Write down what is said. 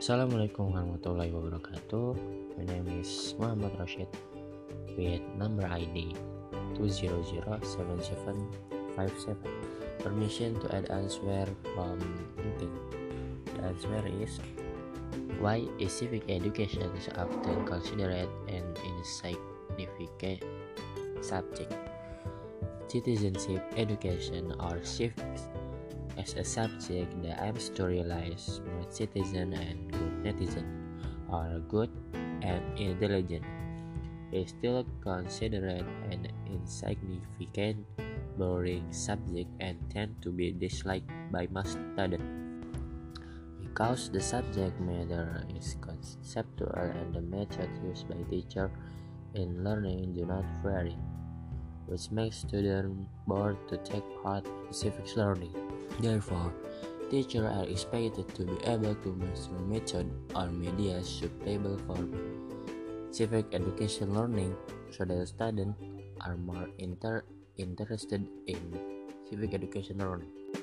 Assalamualaikum warahmatullahi wabarakatuh. My name is Muhammad Rashid with number ID 2007757. Permission to add answer from Intin. The answer is: why is civic education often considered an insignificant subject? Citizenship education or civics as a subject that aims to realize smart citizen and good netizen, or good and intelligent, is still considered an insignificant, boring subject and tend to be disliked by most students because the subject matter is conceptual and the methods used by teachers in learning do not vary, which makes students bored to take part in civics learning. Therefore, teachers are expected to be able to master method or media suitable for civic education learning so that students are more interested in civic education learning.